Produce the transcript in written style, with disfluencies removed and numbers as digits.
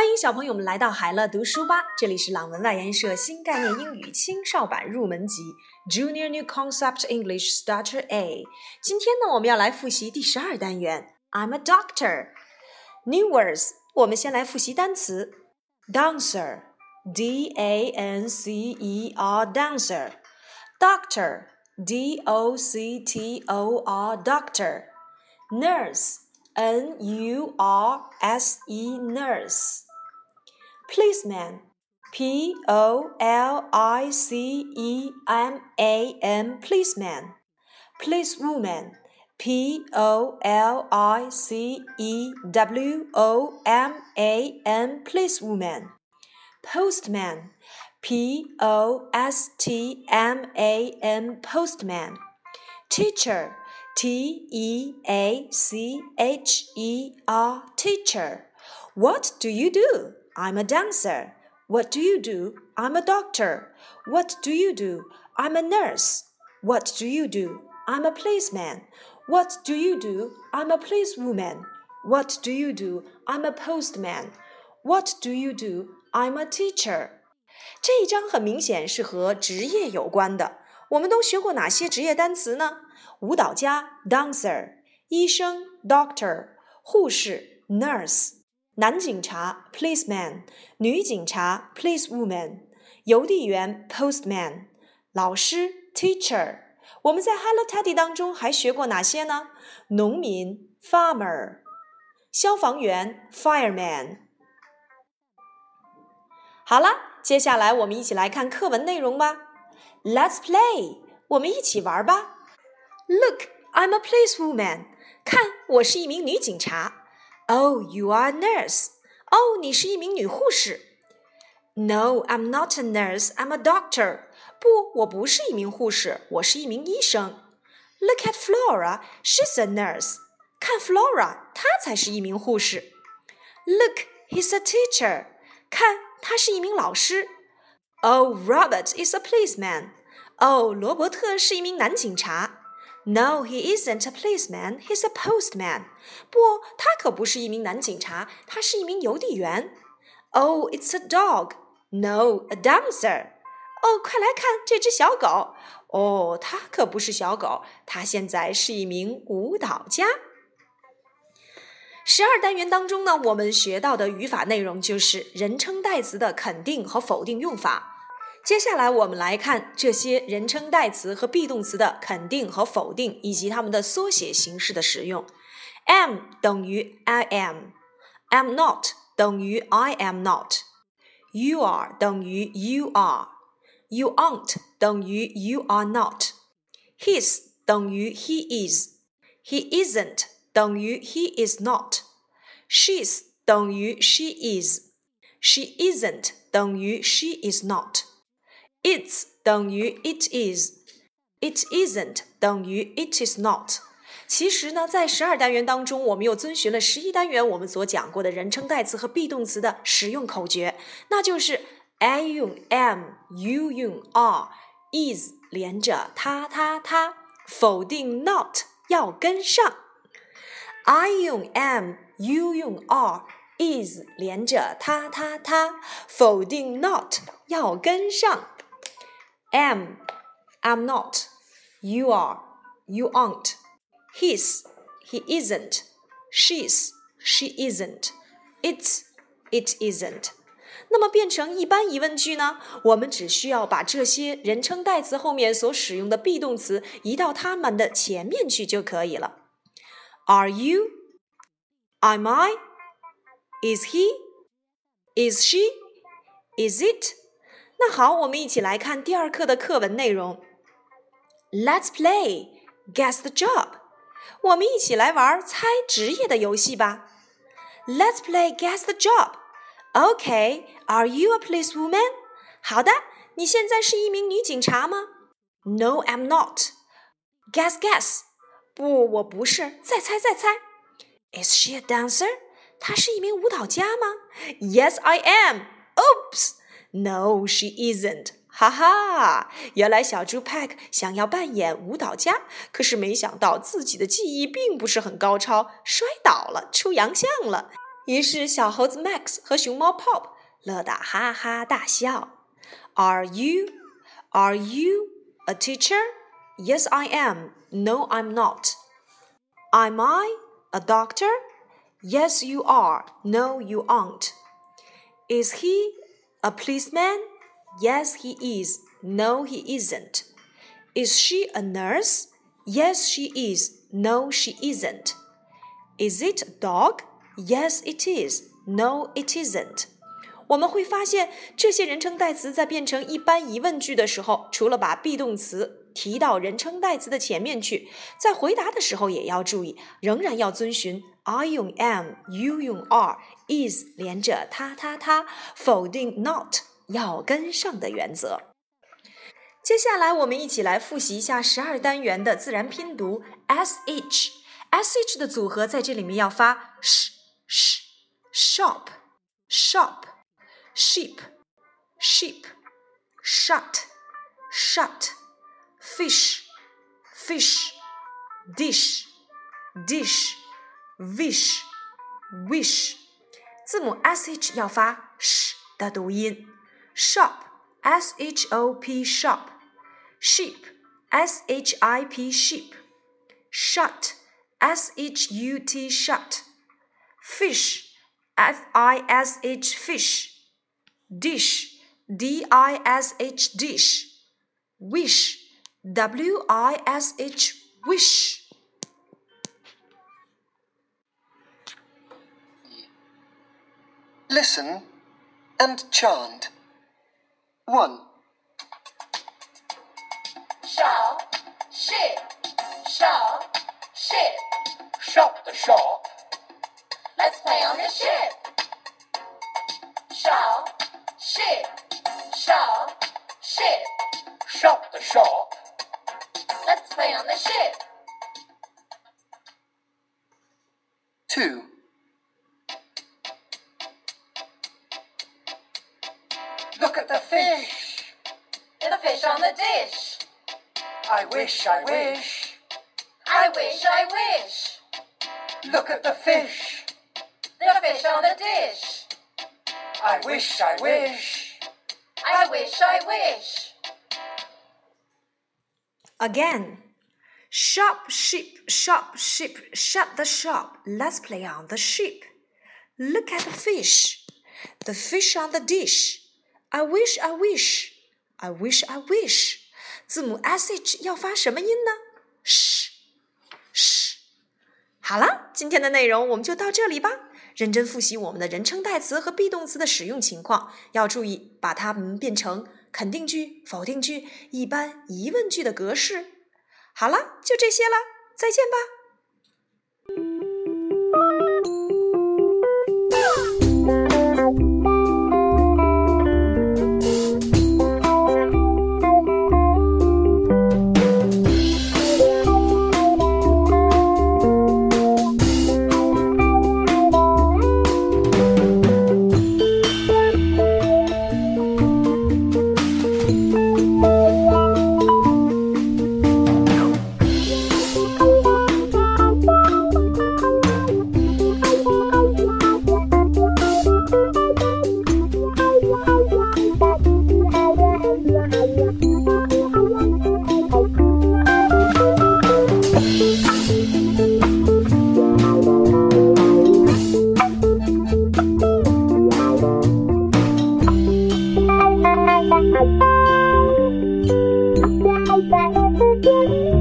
欢迎小朋友们来到海乐读书吧，这里是朗文外研社新概念英语青少版入门级 Junior New Concept English Starter A。 今天呢，我们要来复习第12单元 I'm a doctor New words。 我们先来复习单词 Dancer D-A-N-C-E-R Dancer Doctor D-O-C-T-O-R Doctor Nurse N-U-R-S-E Nurse Policeman P-O-L-I-C-E-M-A-N Policeman Policewoman P-O-L-I-C-E-W-O-M-A-N Policewoman Postman P-O-S-T-M-A-N Postman Teacher T-E-A-C-H-E-R Teacher What do you do? I'm a dancer. What do you do? I'm a doctor. What do you do? I'm a nurse. What do you do? I'm a policeman. What do you do? I'm a policewoman. What do you do? I'm a postman. What do you do? I'm a teacher. 这一章很明显是和职业有关的。我们都学过哪些职业单词呢？舞蹈家 dancer， 医生 doctor， 护士 nurse， 男警察 policeman， 女警察 policewoman， 邮递员 postman， 老师 teacher。 我们在 Hello Teddy 当中还学过哪些呢？农民 farmer， 消防员 fireman。 好了，接下来我们一起来看课文内容吧。 Let's play， 我们一起玩吧。 Look, I'm a policewoman. 看，我是一名女警察。 Oh, you are a nurse. 哦，你是一名女护士。 No, I'm not a nurse, I'm a doctor. 不，我不是一名护士，我是一名医生。 Look at Flora, she's a nurse. 看 Flora， 她才是一名护士。 Look, he's a teacher. 看，他是一名老师。 Oh, Robert is a policeman. 哦，罗伯特是一名男警察。 No, he isn't a policeman, he's a postman. 不，他可不是一名男警察，他是一名邮递员。 Oh, it's a dog. No, a dancer. 哦，快来看这只小狗。哦，它可不是小狗，它现在是一名舞蹈家。12单元当中呢，我们学到的语法内容就是人称代词的肯定和否定用法。接下来我们来看这些人称代词和 be 动词的肯定和否定，以及它们的缩写形式的使用。 am 等于 I am， am not 等于 I am not， you are 等于 you are， you aren't 等于 you are not， his 等于 he is， he isn't 等于 he is not， she's 等于 she is， she isn't 等于 she is not，It's 等于 it is， it isn't 等于 it is not。 其实呢，在12单元当中，我们又遵循了11单元我们所讲过的人称代词和 be 动词的使用口诀，那就是 I 用 am，you 用 are，is 连着他他他，否定 not 要跟上。 I 用 am，you 用 are，is 连着他他他，否定 not 要跟上。am, I'm not, you are, you aren't, his, he isn't, she's, she isn't, it's, it isn't。 那么变成一般疑问句呢，我们只需要把这些人称代词后面所使用的 be 动词移到它们的前面去就可以了。 Are you? Am I? Is he? Is she? Is it?那好，我们一起来看第2课的课文内容。 Let's play Guess the job。 我们一起来玩猜职业的游戏吧。 Let's play Guess the job。 Okay, are you a policewoman? 好的，你现在是一名女警察吗？ No, I'm not. Guess, guess。 不，我不是，再猜再猜。 Is she a dancer? 她是一名舞蹈家吗？ Yes, I am. Oops!No, she isn't. 哈哈，原来小猪 Peck 想要扮演舞蹈家，可是没想到自己的技艺并不是很高超，摔倒了，出洋相了。 于是小猴子 Max 和熊猫 Pop 乐得哈哈大笑。Are you a teacher? Yes, I am. No, I'm not. Am I a doctor? Yes, you are. No, you aren't. Is he a policeman? Yes, he is. No, he isn't. Is she a nurse? Yes, she is. No, she isn't. Is it a dog? Yes, it is. No, it isn't. 我们会发现，这些人称代词在变成一般疑问句的时候，除了把 be 动词提到人称代词的前面去，在回答的时候也要注意，仍然要遵循 I 用 am, you 用 are, is 连着他，否定 not 要跟上的原则。接下来我们一起来复习一下12单元的自然拼读 sh。sh 的组合在这里面要发 sh shop sheep shut fish dish wish 字母 sh 要发 sh 的读音 shop shop shop sheep ship sheep shut shut shut fish fish fish dish dish dish wish wish wish Listen and chant. 1. Shop, ship, shop, ship. Shop the shop. Let's play on the ship. Shop, ship, shop, ship. Shop the shop. Let's play on the ship. 2. Look at the fish. The fish on the dish. I wish, I wish. I wish, I wish. Look at the fish. The fish on the dish. I wish, I wish. I wish, I wish. Again. Shop, sheep, shop, sheep, shut the shop. Let's play on the ship. Look at the fish. The fish on the dish. I wish, I wish. I wish, I wish. 字母 sh 要发什么音呢？ sh。好了，今天的内容我们就到这里吧。认真复习我们的人称代词和 be 动词的使用情况，要注意把它们变成肯定句、否定句、一般疑问句的格式。好了，就这些了，再见吧。 Bye.